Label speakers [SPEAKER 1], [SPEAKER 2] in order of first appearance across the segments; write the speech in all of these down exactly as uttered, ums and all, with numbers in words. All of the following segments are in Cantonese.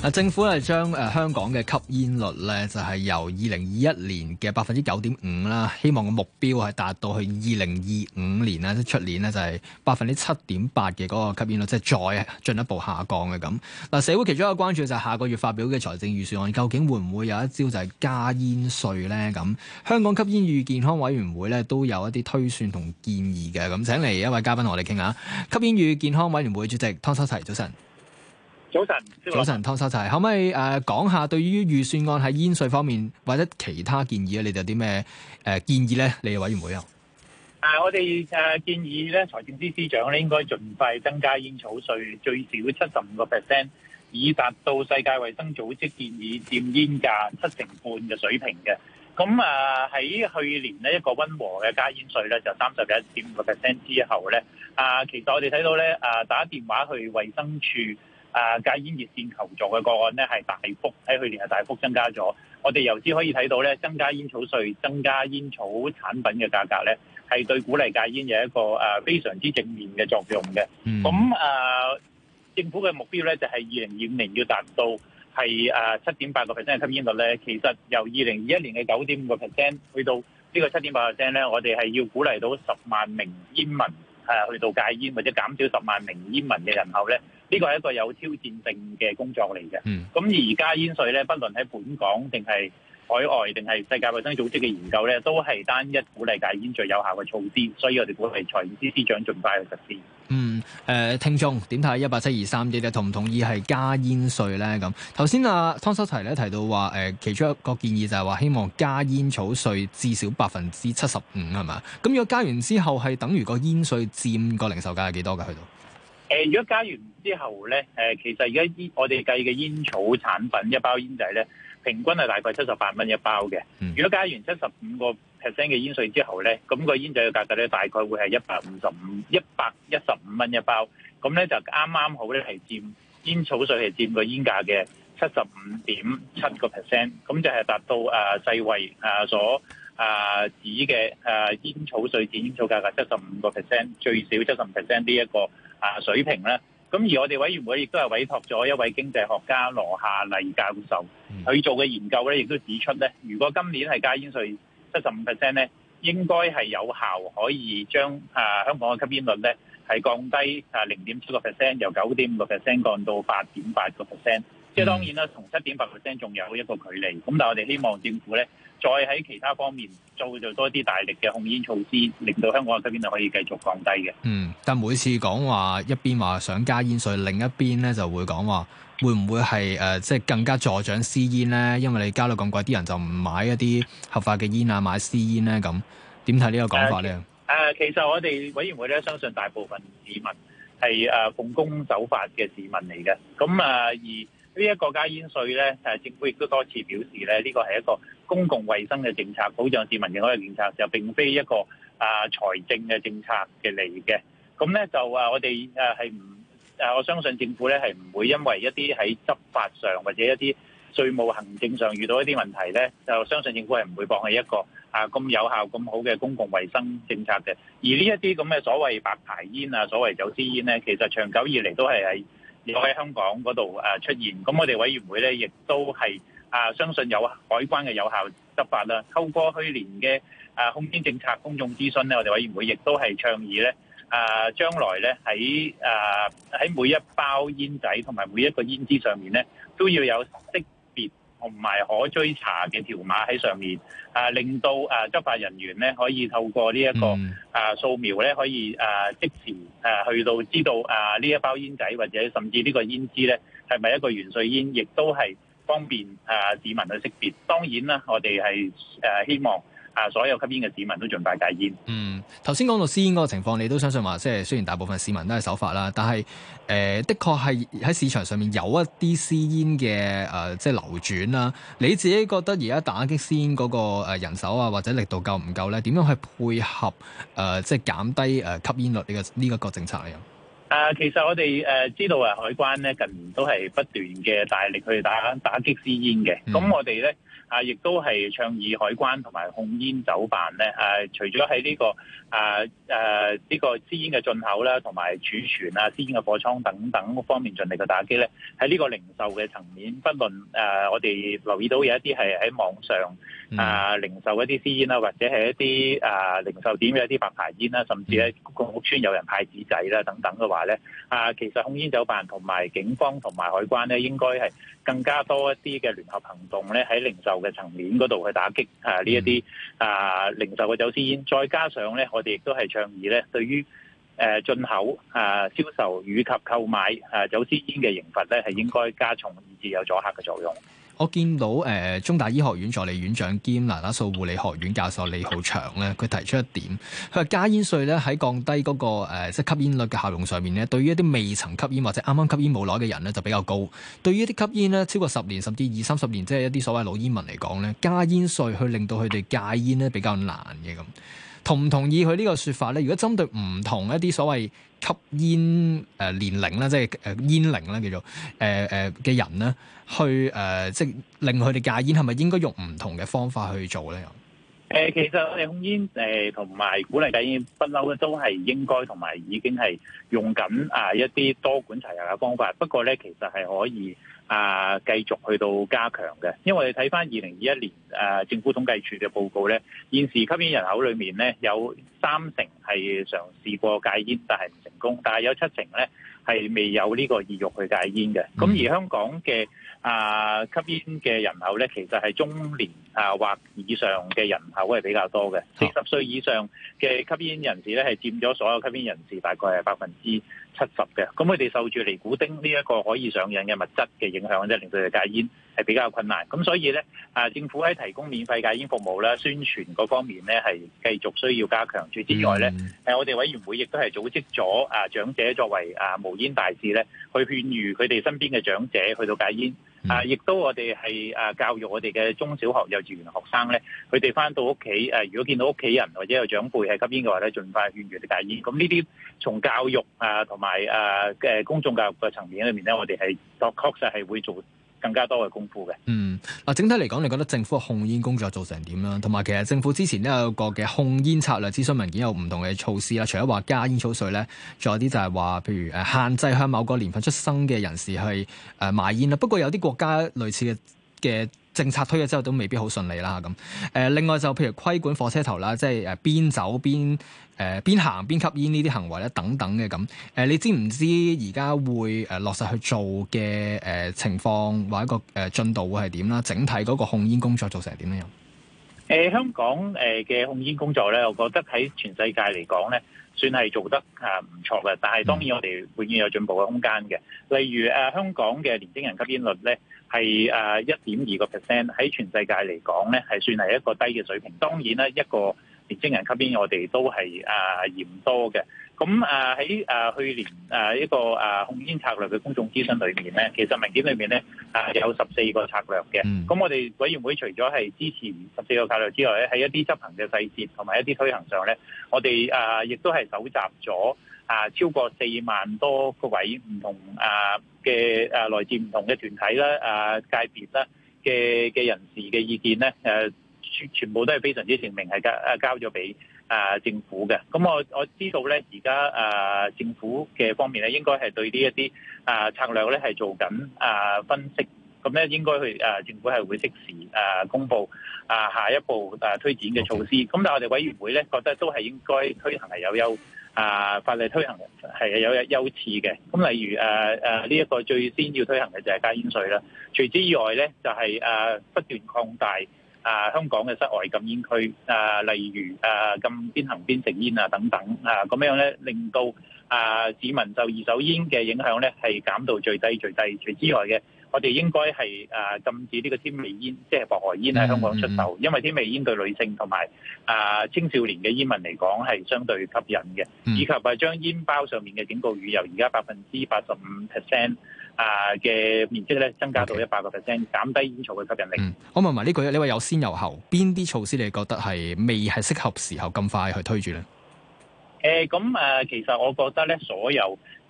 [SPEAKER 1] 嗱，政府係將誒香港嘅吸煙率咧，就係由二零二一年嘅百分之九點五啦，希望個目標係達到去二零二五年啦，即係出年咧就係百分之七點八嘅嗰個吸煙率，即係再進一步下降嘅咁。嗱，社會其中一個關注就係下個月發表嘅財政預算案，究竟會唔會有一招就係加煙稅咧？咁香港吸煙與健康委員會咧都有一啲推算同建議嘅，咁請嚟一位嘉賓同我哋傾下。吸煙與健康委員會主席湯修齊，早晨。
[SPEAKER 2] 早晨，
[SPEAKER 1] 早晨，湯修齊，可唔可以誒講下對於預算案喺煙稅方面或者其他建議咧，你哋有啲咩誒建議咧？你哋委員會啊？
[SPEAKER 2] 啊，我哋誒建議咧，財政司司長咧應該盡快增加煙草稅最少七十五個 percent， 以達到世界衛生組織建議佔煙價七成半嘅水平嘅。咁啊喺去年呢，一個溫和嘅加煙稅咧，就三十一點五個 percent 之後咧，啊，其實我哋睇到咧，啊打電話去衛生署。啊！戒煙熱線求助嘅個案咧，係大幅喺去年係大幅增加咗。我哋由此可以睇到咧，增加煙草稅、增加煙草產品嘅價格咧，係對鼓勵戒煙有一個誒、啊、非常之正面嘅作用嘅。咁誒、嗯啊，政府嘅目標咧就係二零二五年要達到係誒七點八個 percent 嘅吸煙率咧。其實由二零二一年嘅九點五個 percent 去到呢個七點八個 percent 咧，我哋係要鼓勵到十萬名煙民誒、啊、去到戒煙，或者減少十萬名煙民嘅人口咧。呢個係一個有挑戰性嘅工作嚟嘅。咁、嗯、而加煙稅咧，不論喺本港定係海外定係世界衛生組織嘅研究咧，都係單一鼓勵戒煙最有效嘅措施。所以我哋鼓勵財政司司長盡快去實施。
[SPEAKER 1] 嗯，誒、呃，聽眾點睇一八七二三啲咧？同唔同意係加煙稅咧？咁頭先阿湯修齊咧提到話，誒、呃，其中一個建議就係話希望加煙草稅至少百分之七十五係嘛？咁如果加完之後係等於個煙稅佔個零售價係幾多㗎？去到？
[SPEAKER 2] 誒，如果加完之後咧，誒，其實而家煙我哋計嘅煙草產品一包煙仔咧，平均係大概七十八蚊一包嘅。嗯、如果加完七十五個 percent 嘅煙稅之後咧，咁、那個煙仔嘅價格咧，大概會係一百五十五、一百一十五蚊一包。咁咧就啱啱好咧係佔煙草稅係佔個煙價嘅七十五點七個 percent。咁就係達到誒、呃、世衛誒所誒、呃、指嘅誒煙草稅佔煙草價格七十五個 percent， 最少七十五 percent 呢一個啊水平咧，咁而我哋委員會亦都係委託咗一位經濟學家羅夏麗教授，佢做嘅研究咧，亦都指出咧，如果今年係加煙稅七十五 percent 咧，應該係有效可以將啊香港嘅吸煙率咧係降低啊零點七個 percent， 由九點五個 percent 降到八點八個 percent。即係當然啦，同七點八 percent 仲有一個距離。咁但係我哋希望政府咧，再喺其他方面做做多啲大力嘅控煙措施，令到香港嘅吸煙率可以繼續降低嘅。
[SPEAKER 1] 嗯，但每次講話一邊話想加煙稅，另一邊咧就會講話會唔會係誒、呃、即係更加助長私煙咧？因為你加到咁貴，啲人就唔買一啲合法嘅煙啊，買私煙咧咁。點睇呢個講法咧？誒、
[SPEAKER 2] 呃呃，其實我哋委員會咧相信大部分市民係誒、呃、奉公守法嘅市民嚟嘅。咁啊、呃、而呢一個加煙稅咧，誒政府亦都多次表示咧，呢個係一個公共衛生嘅政策，保障市民健康嘅政策，就並非一個啊財政嘅政策嘅嚟嘅。咁咧就啊，我哋誒係唔誒，我相信政府咧係唔會因為一啲喺執法上或者一啲稅務行政上遇到一啲問題咧，就相信政府係唔會放棄一個啊咁有效咁好嘅公共衛生政策嘅。而呢一啲咁嘅所謂白牌煙啊，所謂走私煙咧，其實長久以嚟都係喺有喺香港嗰度誒出現，咁我哋委員會咧亦都係啊相信有海關嘅有效執法啦。透過去年嘅啊控煙政策公眾諮詢咧，我哋委員會亦都係倡議咧啊將來咧喺啊喺每一包煙仔同埋每一個煙支上面咧都要有識別同埋可追查嘅條碼喺上面，啊令到啊執法人員咧可以透過呢一個啊掃描咧可以啊即時啊去到知道啊呢一包煙仔或者甚至呢個煙支咧係咪一個元帥煙，亦都係方便啊市民去識別。當然啦，我哋係誒希望啊所有吸煙嘅市民都盡快戒煙。
[SPEAKER 1] 嗯，頭先講到私煙嗰個情況，你都相信話，即係雖然大部分市民都係守法啦，但係誒、呃、的確係喺市場上面有一啲私煙嘅誒即係流轉啦。你自己覺得而家打擊私煙嗰個誒人手啊或者力度夠唔夠咧？點樣去配合誒、呃、即係減低誒吸煙率呢、這個呢一、這個政策嚟？
[SPEAKER 2] 啊，其實我哋誒知道啊，海關咧近年都係不斷嘅大力去打打擊私煙嘅。咁、嗯、我哋咧啊，亦都係倡議海關同埋控煙酒辦咧，誒、啊，除咗喺呢個啊誒呢個私煙嘅進口啦，同埋儲存啊、私煙嘅貨倉等等方面盡力嘅打擊咧。喺呢個零售嘅層面，不論誒、呃、我哋留意到有一啲係喺網上啊、呃、零售一啲私煙啦，或者係一啲啊、呃、零售點嘅一啲白牌煙啦，甚至喺公共屋邨有人派紙仔啦等等嘅話咧，啊、呃、其實控煙酒辦同埋警方同埋海關咧，應該係更加多一啲嘅聯合行動咧，喺零售嘅層面嗰度去打擊啊呢一啲啊零售嘅走私煙，再加上咧，我哋亦都係倡議咧，對於誒進口啊、銷售以及購買啊走私煙嘅刑罰咧，係應該加重，以至有阻嚇嘅作用。
[SPEAKER 1] 我見到誒、呃、中大醫學院助理院長兼那打素護理學院教授李浩祥咧，佢提出一點，佢話加煙稅咧喺降低嗰、那個、呃、即係吸煙率嘅效用上面咧，對於一啲未曾吸煙或者啱啱吸煙冇耐嘅人咧就比較高。對於一啲吸煙咧超過十年甚至二三十年，即係一啲所謂老煙民嚟講咧，加煙稅去令到佢哋戒煙咧比較難嘅咁。同唔同意佢呢個說法咧？如果針對唔同一啲所謂吸煙誒、呃、年齡啦，即係誒煙齡啦，叫做誒誒嘅人咧，去誒、呃、即係令佢哋戒煙，係咪應該用唔同嘅方法去做咧？
[SPEAKER 2] 誒，其實我哋控煙誒同埋鼓勵戒煙不嬲咧，都係應該同埋已經係用緊啊一啲多管齊下嘅方法。不過咧，其實係可以啊繼續去到加強嘅，因為我哋睇翻二零二一年誒政府統計處嘅報告咧，現時吸煙人口裏面咧有三成係嘗試過戒煙，但係唔成功，但係有七成咧係未有呢個意欲去戒煙嘅。咁而香港嘅啊吸煙嘅人口咧，其實係中年啊或以上嘅人口係比較多嘅，四十歲以上嘅吸煙人士咧係佔咗所有吸煙人士大概係百分之七十嘅。咁佢哋受住尼古丁呢一個可以上癮嘅物質嘅影響，即係令到佢哋戒煙係比較困難。咁所以咧啊，政府喺提供免費戒煙服務啦、宣傳嗰方面咧係繼續需要加強。除此之外咧，誒我哋委員會亦都係組織咗啊長者作為啊無煙大使咧，去勸喻佢哋身邊嘅長者去到戒煙。啊！亦都我哋係啊教育我哋嘅中小學、幼稚園學生咧，佢哋翻到屋企誒，如果見到屋企人或者有長輩係吸煙嘅話咧，盡快勸喻佢哋戒煙。咁呢啲從教育啊同埋誒嘅公眾教育嘅層面裏面咧，我哋係確確實係會做更加多嘅功夫嘅。嗯，
[SPEAKER 1] 嗱，整體嚟講，你覺得政府嘅控煙工作做成點啦？同埋，其實政府之前都有個嘅控煙策略諮詢文件，有唔同嘅措施啦。除咗話加煙草稅咧，仲有啲就係話，譬如誒限制向某個年份出生嘅人士去誒賣煙啦。不過有啲國家類似嘅嘅政策推咗之後，都未必好順利啦。咁誒，另外就譬如規管火車頭啦，即係誒邊走邊誒邊行邊吸煙呢啲行為咧，等等嘅咁。誒，你知唔知而家會誒落實去做嘅誒情況或者個誒進度會係點啦？整體嗰個控煙工作做成點樣？
[SPEAKER 2] 誒香港誒嘅控煙工作咧，我覺得喺全世界嚟講咧，算係做得啊唔錯嘅。但係當然我哋永遠有進步嘅空間嘅。例如誒香港嘅年輕人吸煙率咧係誒一點二個 percent，喺全世界嚟講咧係算係一個低嘅水平。當然啦，一個年輕人吸煙我哋都係啊嫌多嘅。咁啊喺啊去年啊一個啊控煙策略嘅公眾諮詢裏面咧，其實文件裏面咧啊有十四個策略嘅。咁、嗯、我哋委員會除咗係支持十四個策略之外咧，喺一啲執行嘅細節同埋一啲推行上咧，我哋啊亦都係搜集咗啊超過四萬多個位唔同啊嘅啊來自唔同嘅團體啦、啊界別啦嘅嘅人士嘅意見咧，誒全全部都係非常之正面，係交啊交咗俾啊政府嘅。咁我我知道咧，而家啊政府嘅方面咧，應該係對呢一啲啊策略咧係做緊啊分析。咁咧應該去誒政府係會即時誒公佈啊下一步誒推展嘅措施。咁但係我哋委員會咧覺得都係應該推行係有優啊法例推行係有優次嘅。咁例如誒誒呢一個最先要推行嘅就係加煙稅啦。除此以外咧就係誒不斷擴大啊香港嘅室外禁煙區啊，例如誒禁邊行邊食煙啊等等啊，咁樣咧令到啊市民受二手煙嘅影響咧係減到最低最低。除此之外嘅，我哋應該係誒禁止呢個添味煙，即係薄荷煙喺香港出售，因為添味煙對女性同埋啊青少年嘅煙民嚟講係相對吸引嘅，以及係將煙包上面嘅警告語由而家百分之八十五 percent 啊嘅面積咧增加到一百個 percent， 減低煙草嘅吸引力。
[SPEAKER 1] 嗯、我問埋呢句，你話有先有後，邊啲措施你覺得係未係適合時候咁快去推住咧？
[SPEAKER 2] 誒咁誒，其實我覺得咧，所有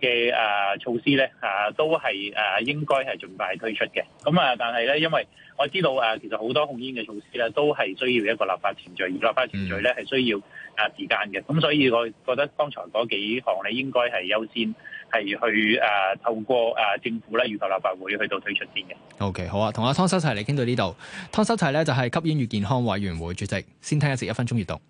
[SPEAKER 2] 嘅誒措施咧啊，都係誒應該係盡快推出嘅。咁啊，但係咧，因為我知道誒，其實好多控煙嘅措施咧，都係需要一個立法程序，而立法程序咧係需要啊時間嘅。咁所以我覺得剛才嗰幾項咧，應該係優先係去誒透過誒政府咧，預求立法會去到推出先嘅。
[SPEAKER 1] OK， 好啊，同阿湯修齊嚟傾到呢度。湯修齊咧就係吸煙與健康委員會主席，先聽一節一分鐘閱讀。